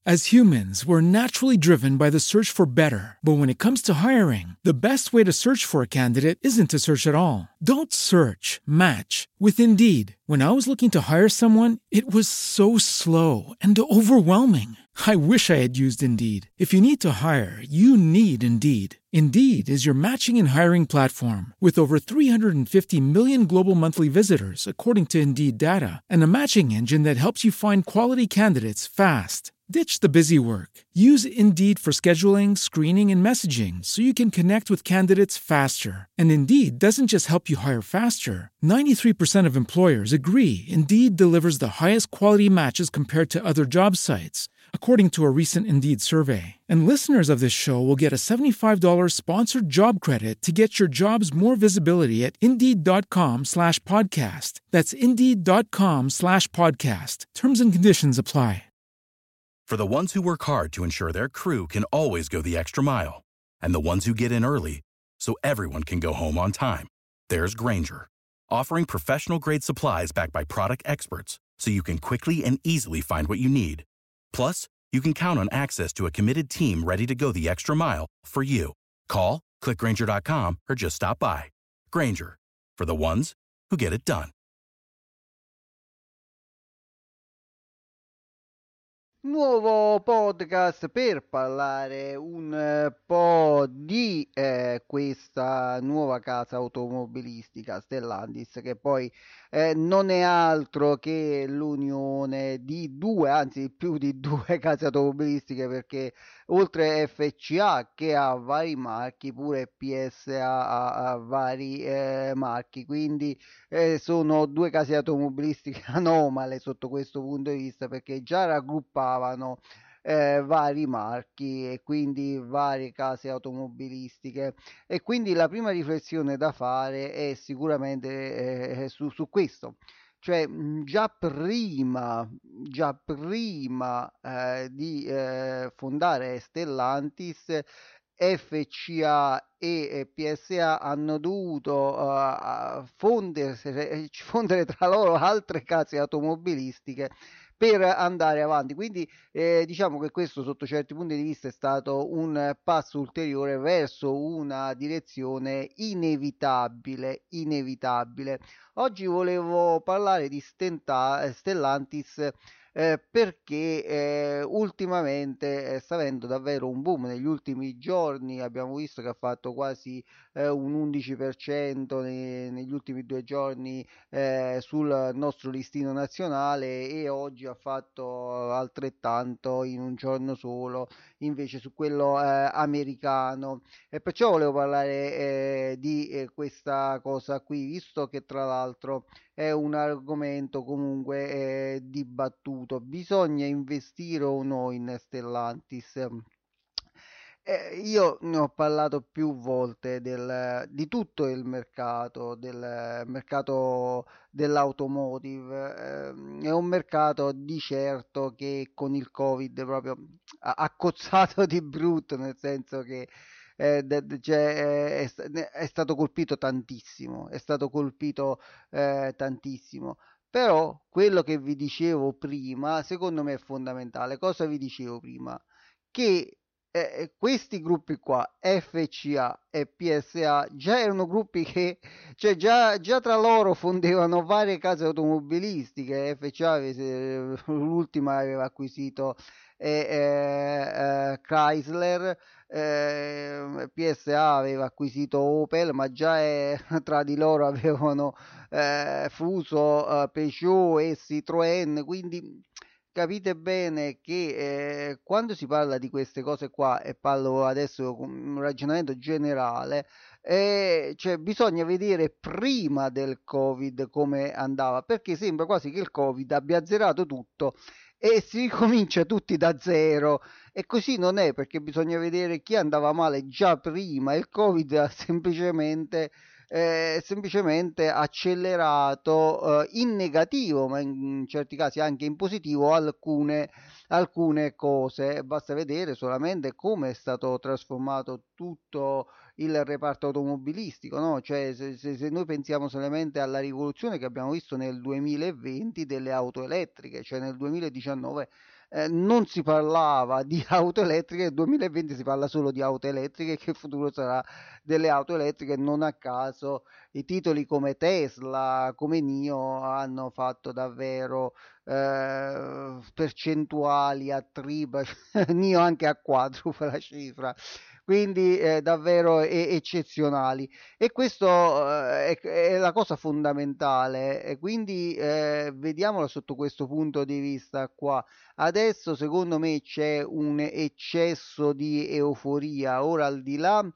As humans, we're naturally driven by the search for better. But when it comes to hiring, the best way to search for a candidate isn't to search at all. Don't search, match with Indeed. When I was looking to hire someone, it was so slow and overwhelming. I wish I had used Indeed. If you need to hire, you need Indeed. Indeed is your matching and hiring platform with over 350 million global monthly visitors, according to Indeed data, and a matching engine that helps you find quality candidates fast. Ditch the busy work. Use Indeed for scheduling, screening, and messaging so you can connect with candidates faster. And Indeed doesn't just help you hire faster. 93% of employers agree Indeed delivers the highest quality matches compared to other job sites, according to a recent Indeed survey. And listeners of this show will get a $75 sponsored job credit to get your jobs more visibility at Indeed.com/podcast. That's Indeed.com/podcast. Terms and conditions apply. For the ones who work hard to ensure their crew can always go the extra mile, and the ones who get in early so everyone can go home on time, there's Grainger, offering professional-grade supplies backed by product experts so you can quickly and easily find what you need. Plus, you can count on access to a committed team ready to go the extra mile for you. Call, click Grainger.com, or just stop by. Grainger, for the ones who get it done. Nuovo podcast per parlare un po' di questa nuova casa automobilistica Stellantis, che poi non è altro che l'unione di due, anzi più di due case automobilistiche, perché oltre FCA, che ha vari marchi, pure PSA ha vari marchi, quindi sono due case automobilistiche anomale sotto questo punto di vista, perché già raggruppavano vari marchi e quindi varie case automobilistiche. E quindi la prima riflessione da fare è sicuramente su questo. Cioè, già prima di fondare Stellantis, FCA e PSA hanno dovuto fondere tra loro altre case automobilistiche per andare avanti. Quindi diciamo che questo sotto certi punti di vista è stato un passo ulteriore verso una direzione inevitabile. Oggi volevo parlare di Stellantis perché ultimamente sta avendo davvero un boom. Negli ultimi giorni abbiamo visto che ha fatto quasi un 11% negli ultimi 2 giorni sul nostro listino nazionale, e oggi ha fatto altrettanto in un giorno solo invece su quello americano. E perciò volevo parlare di questa cosa qui, visto che tra l'altro è un argomento comunque dibattuto. Bisogna investire o no in Stellantis? Io ne ho parlato più volte di tutto il mercato, del mercato dell'automotive. È un mercato di certo che con il Covid proprio ha cozzato di brutto, nel senso che è stato colpito tantissimo, tantissimo. Però quello che vi dicevo prima, secondo me è fondamentale. Cosa vi dicevo prima? Che questi gruppi qua, FCA e PSA, già erano gruppi che, cioè già tra loro fondevano varie case automobilistiche. FCA l'ultima aveva acquisito Chrysler, PSA aveva acquisito Opel, ma già tra di loro avevano fuso Peugeot e Citroën. Quindi capite bene che quando si parla di queste cose qua, e parlo adesso con un ragionamento generale, cioè bisogna vedere prima del Covid come andava, perché sembra quasi che il Covid abbia azzerato tutto e si ricomincia tutti da zero. E così non è, perché bisogna vedere chi andava male già prima. Il Covid ha semplicemente accelerato in negativo, ma in certi casi anche in positivo, alcune cose. Basta vedere solamente come è stato trasformato tutto il reparto automobilistico, no? Cioè, se noi pensiamo solamente alla rivoluzione che abbiamo visto nel 2020 delle auto elettriche, cioè nel 2019 non si parlava di auto elettriche, nel 2020 si parla solo di auto elettriche, che il futuro sarà delle auto elettriche. Non a caso i titoli come Tesla, come NIO hanno fatto davvero percentuali a tripla, NIO anche a quadrupla cifra, quindi davvero eccezionali. E questo è la cosa fondamentale, e quindi vediamolo sotto questo punto di vista qua. Adesso secondo me c'è un eccesso di euforia, ora al di là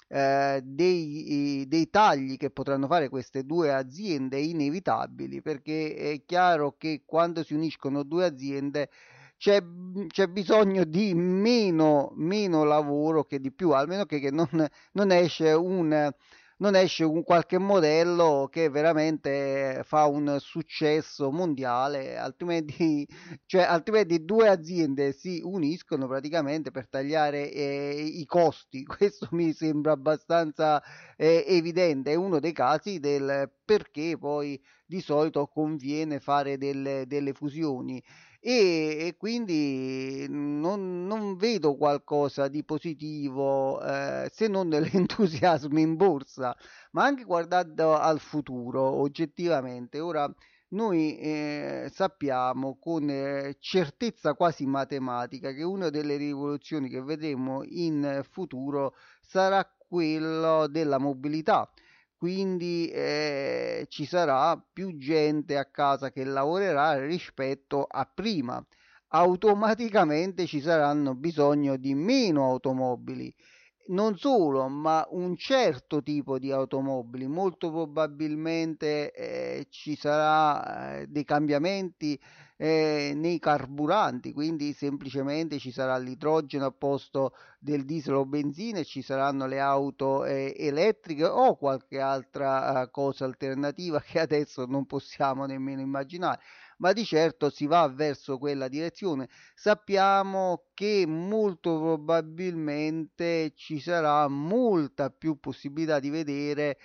dei tagli che potranno fare queste due aziende inevitabili, perché è chiaro che quando si uniscono due aziende c'è bisogno di meno lavoro che di più, almeno che non esce non esce un qualche modello che veramente fa un successo mondiale, altrimenti, cioè, altrimenti due aziende si uniscono praticamente per tagliare i costi. Questo mi sembra abbastanza evidente, è uno dei casi del perché poi di solito conviene fare delle fusioni. E quindi non vedo qualcosa di positivo se non l'entusiasmo in borsa, ma anche guardando al futuro oggettivamente. Ora noi sappiamo con certezza quasi matematica che una delle rivoluzioni che vedremo in futuro sarà quello della mobilità, quindi ci sarà più gente a casa che lavorerà rispetto a prima. Automaticamente ci saranno bisogno di meno automobili. Non solo, ma un certo tipo di automobili. Molto probabilmente ci sarà dei cambiamenti nei carburanti, quindi semplicemente ci sarà l'idrogeno a posto del diesel o benzina e ci saranno le auto elettriche o qualche altra cosa alternativa che adesso non possiamo nemmeno immaginare, ma di certo si va verso quella direzione. Sappiamo che molto probabilmente ci sarà molta più possibilità di vedere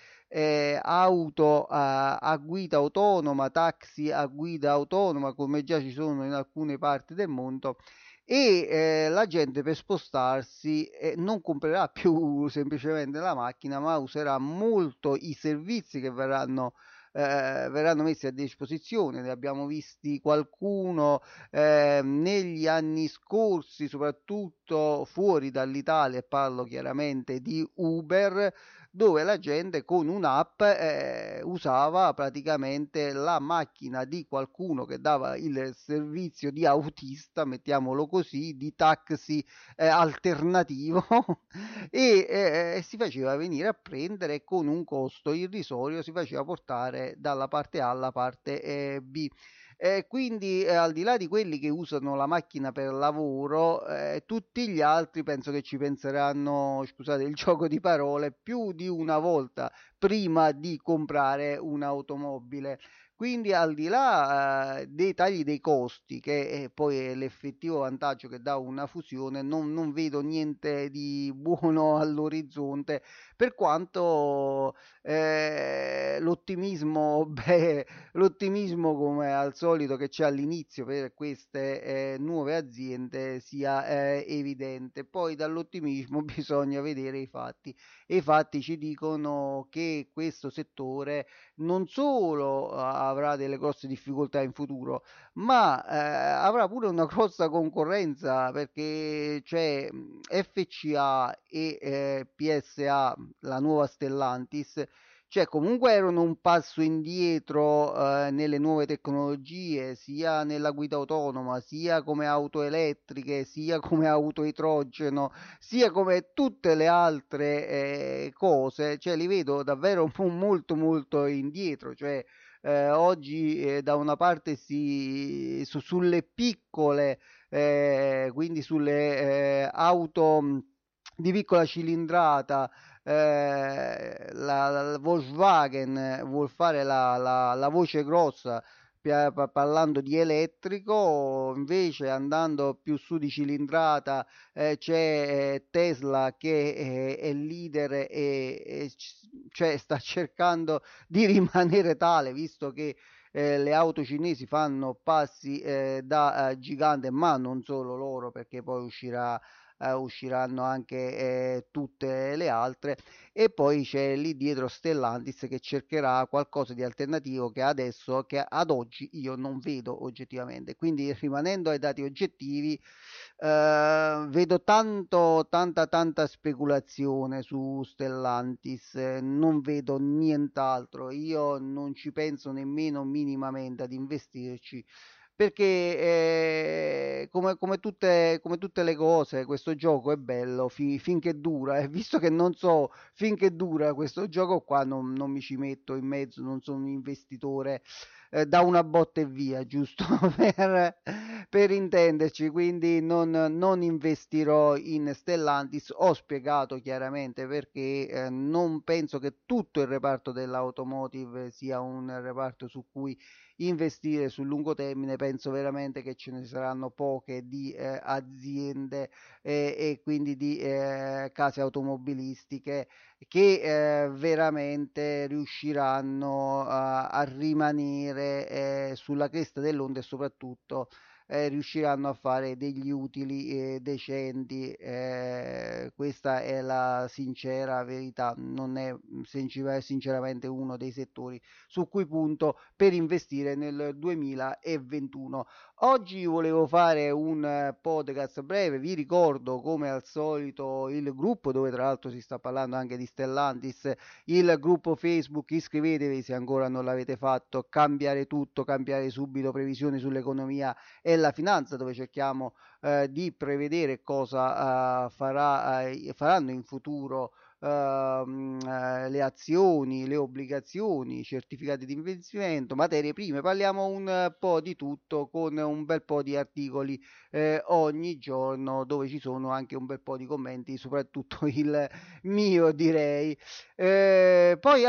auto a guida autonoma, taxi a guida autonoma, come già ci sono in alcune parti del mondo, e la gente per spostarsi non comprerà più semplicemente la macchina, ma userà molto i servizi che verranno messi a disposizione. Ne abbiamo visti qualcuno negli anni scorsi, soprattutto fuori dall'Italia, e parlo chiaramente di Uber, dove la gente con un'app usava praticamente la macchina di qualcuno che dava il servizio di autista, mettiamolo così, di taxi alternativo e si faceva venire a prendere e con un costo irrisorio si faceva portare dalla parte A alla parte B. Quindi al di là di quelli che usano la macchina per lavoro, tutti gli altri penso che ci penseranno, scusate il gioco di parole, più di una volta prima di comprare un'automobile. Quindi al di là dei tagli dei costi, che poi è l'effettivo vantaggio che dà una fusione, non vedo niente di buono all'orizzonte, per quanto l'ottimismo, beh, l'ottimismo come al solito che c'è all'inizio per queste nuove aziende sia evidente. Poi dall'ottimismo bisogna vedere i fatti, e i fatti ci dicono che questo settore non solo avrà delle grosse difficoltà in futuro, ma avrà pure una grossa concorrenza, perché c'è FCA e PSA, la nuova Stellantis, cioè comunque erano un passo indietro nelle nuove tecnologie, sia nella guida autonoma, sia come auto elettriche, sia come auto idrogeno, sia come tutte le altre cose, cioè li vedo davvero molto molto indietro, cioè oggi da una parte sulle piccole, quindi sulle auto di piccola cilindrata, la Volkswagen vuol fare la voce grossa parlando di elettrico, invece andando più su di cilindrata c'è Tesla che è il leader cioè sta cercando di rimanere tale, visto che le auto cinesi fanno passi da gigante, ma non solo loro, perché poi usciranno anche tutte le altre, e poi c'è lì dietro Stellantis che cercherà qualcosa di alternativo che ad oggi io non vedo oggettivamente. Quindi, rimanendo ai dati oggettivi, vedo tanta speculazione su Stellantis, non vedo nient'altro, io non ci penso nemmeno minimamente ad investirci, perché come tutte le cose, questo gioco è bello finché dura, e visto che non so finché dura questo gioco qua, non mi ci metto in mezzo, non sono un investitore da una botta e via, giusto per intenderci, quindi non investirò in Stellantis. Ho spiegato chiaramente perché non penso che tutto il reparto dell'automotive sia un reparto su cui investire sul lungo termine. Penso veramente che ce ne saranno poche di aziende e quindi di case automobilistiche che veramente riusciranno a rimanere sulla cresta dell'onda, e soprattutto riusciranno a fare degli utili decenti. Questa è la sincera verità, non è sinceramente uno dei settori su cui punto per investire nel 2021. Oggi volevo fare un podcast breve, vi ricordo come al solito il gruppo, dove tra l'altro si sta parlando anche di Stellantis, il gruppo Facebook. Iscrivetevi se ancora non l'avete fatto. Cambiare tutto, cambiare subito, previsioni sull'economia e la finanza, dove cerchiamo di prevedere cosa faranno in futuro le azioni, le obbligazioni, i certificati di investimento, materie prime. Parliamo un po' di tutto, con un bel po' di articoli ogni giorno, dove ci sono anche un bel po' di commenti, soprattutto il mio, direi. Poi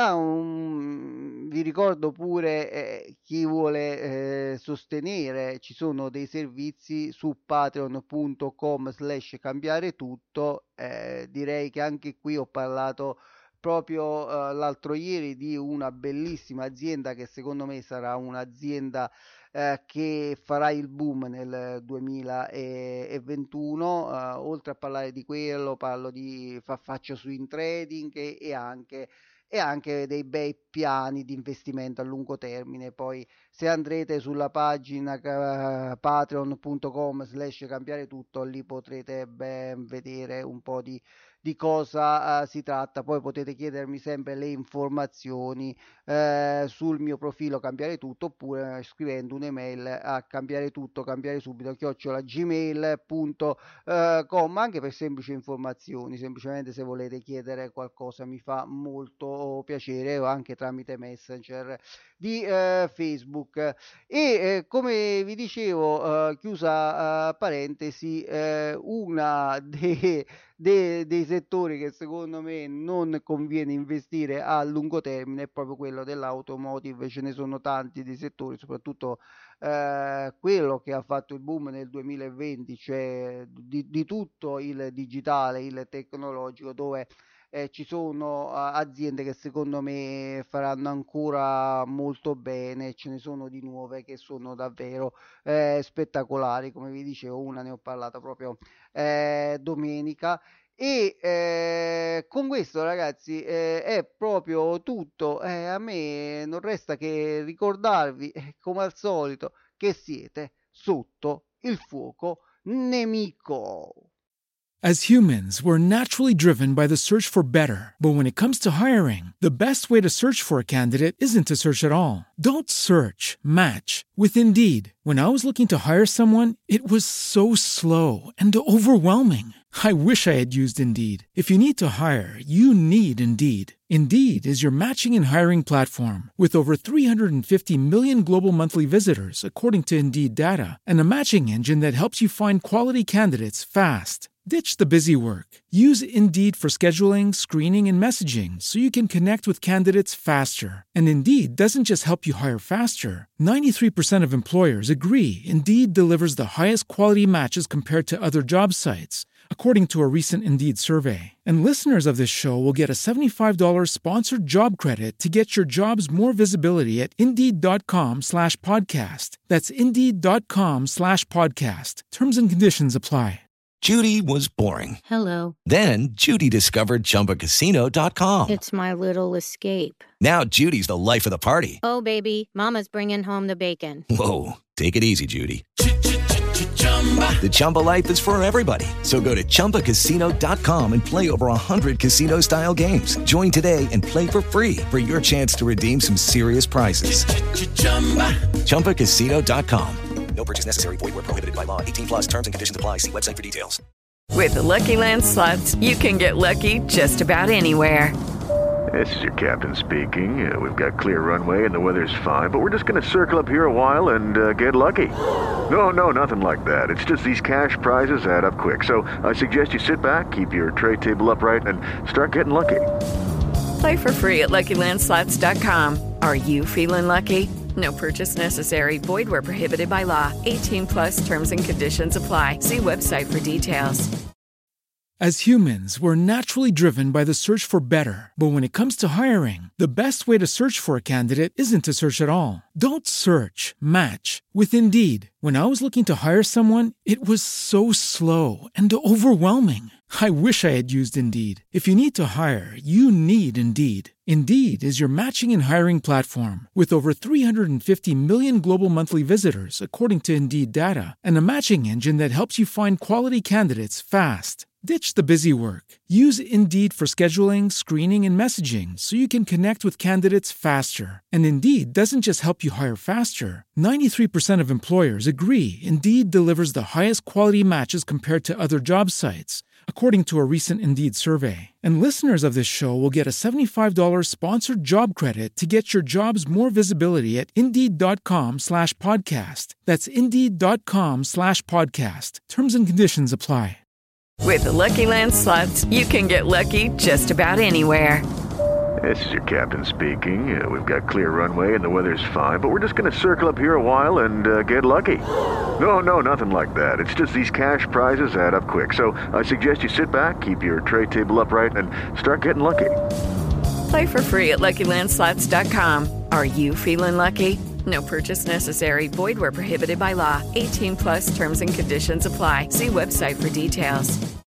vi ricordo pure, chi vuole sostenere, ci sono dei servizi su patreon.com/cambiare tutto. Direi che anche qui ho parlato proprio l'altro ieri di una bellissima azienda che secondo me sarà un'azienda che farà il boom nel 2021. Oltre a parlare di quello, faccio swing trading e anche dei bei piani di investimento a lungo termine. Poi se andrete sulla pagina patreon.com/cambiare tutto, lì potrete ben vedere un po' di cosa si tratta. Poi potete chiedermi sempre le informazioni sul mio profilo Cambiare Tutto, oppure scrivendo un'email a cambiaretutto@gmail.com, anche per semplici informazioni, semplicemente se volete chiedere qualcosa mi fa molto piacere, o anche tramite Messenger di Facebook. E come vi dicevo, chiusa parentesi, una dei settori che secondo me non conviene investire a lungo termine è proprio quello dell'automotive. Ce ne sono tanti di settori, soprattutto quello che ha fatto il boom nel 2020, cioè di tutto il digitale, il tecnologico, dove ci sono aziende che secondo me faranno ancora molto bene. Ce ne sono di nuove che sono davvero spettacolari. Come vi dicevo, una ne ho parlata proprio domenica. E con questo, ragazzi, è proprio tutto. A me non resta che ricordarvi, come al solito, che siete sotto il fuoco nemico. As humans, we're naturally driven by the search for better. But when it comes to hiring, the best way to search for a candidate isn't to search at all. Don't search, match with Indeed. When I was looking to hire someone, it was so slow and overwhelming. I wish I had used Indeed. If you need to hire, you need Indeed. Indeed is your matching and hiring platform with over 350 million global monthly visitors, according to Indeed data, and a matching engine that helps you find quality candidates fast. Ditch the busy work. Use Indeed for scheduling, screening, and messaging so you can connect with candidates faster. And Indeed doesn't just help you hire faster. 93% of employers agree Indeed delivers the highest quality matches compared to other job sites, according to a recent Indeed survey. And listeners of this show will get a $75 sponsored job credit to get your jobs more visibility at Indeed.com/podcast. That's Indeed.com/podcast. Terms and conditions apply. Judy was boring. Hello. Then Judy discovered ChumbaCasino.com. It's my little escape. Now Judy's the life of the party. Oh, baby, mama's bringing home the bacon. Whoa, take it easy, Judy. The Chumba life is for everybody. So go to ChumbaCasino.com and play over 100 casino-style games. Join today and play for free for your chance to redeem some serious prizes. ChumbaCasino.com. No purchase necessary. Void where prohibited by law. 18+ terms and conditions apply. See website for details. With the Lucky Land Slots, you can get lucky just about anywhere. This is your captain speaking. We've got clear runway and the weather's fine, but we're just going to circle up here a while and get lucky. No, nothing like that. It's just these cash prizes add up quick. So I suggest you sit back, keep your tray table upright, and start getting lucky. Play for free at LuckyLandSlots.com. Are you feeling lucky? No purchase necessary. Void where prohibited by law. 18+ terms and conditions apply. See website for details. As humans, we're naturally driven by the search for better. But when it comes to hiring, the best way to search for a candidate isn't to search at all. Don't search, match with Indeed. When I was looking to hire someone, it was so slow and overwhelming. I wish I had used Indeed. If you need to hire, you need Indeed. Indeed is your matching and hiring platform with over 350 million global monthly visitors, according to Indeed data, and a matching engine that helps you find quality candidates fast. Ditch the busy work. Use Indeed for scheduling, screening, and messaging so you can connect with candidates faster. And Indeed doesn't just help you hire faster. 93% of employers agree Indeed delivers the highest quality matches compared to other job sites, according to a recent Indeed survey. And listeners of this show will get a $75 sponsored job credit to get your jobs more visibility at Indeed.com/podcast. That's Indeed.com/podcast. Terms and conditions apply. With the Lucky Land Slots, you can get lucky just about anywhere. This is your captain speaking. We've got clear runway and the weather's fine, but we're just going to circle up here a while and get lucky. No, nothing like that. It's just these cash prizes add up quick. So I suggest you sit back, keep your tray table upright, and start getting lucky. Play for free at LuckyLandSlots.com. Are you feeling lucky? No purchase necessary. Void where prohibited by law. 18+ terms and conditions apply. See website for details.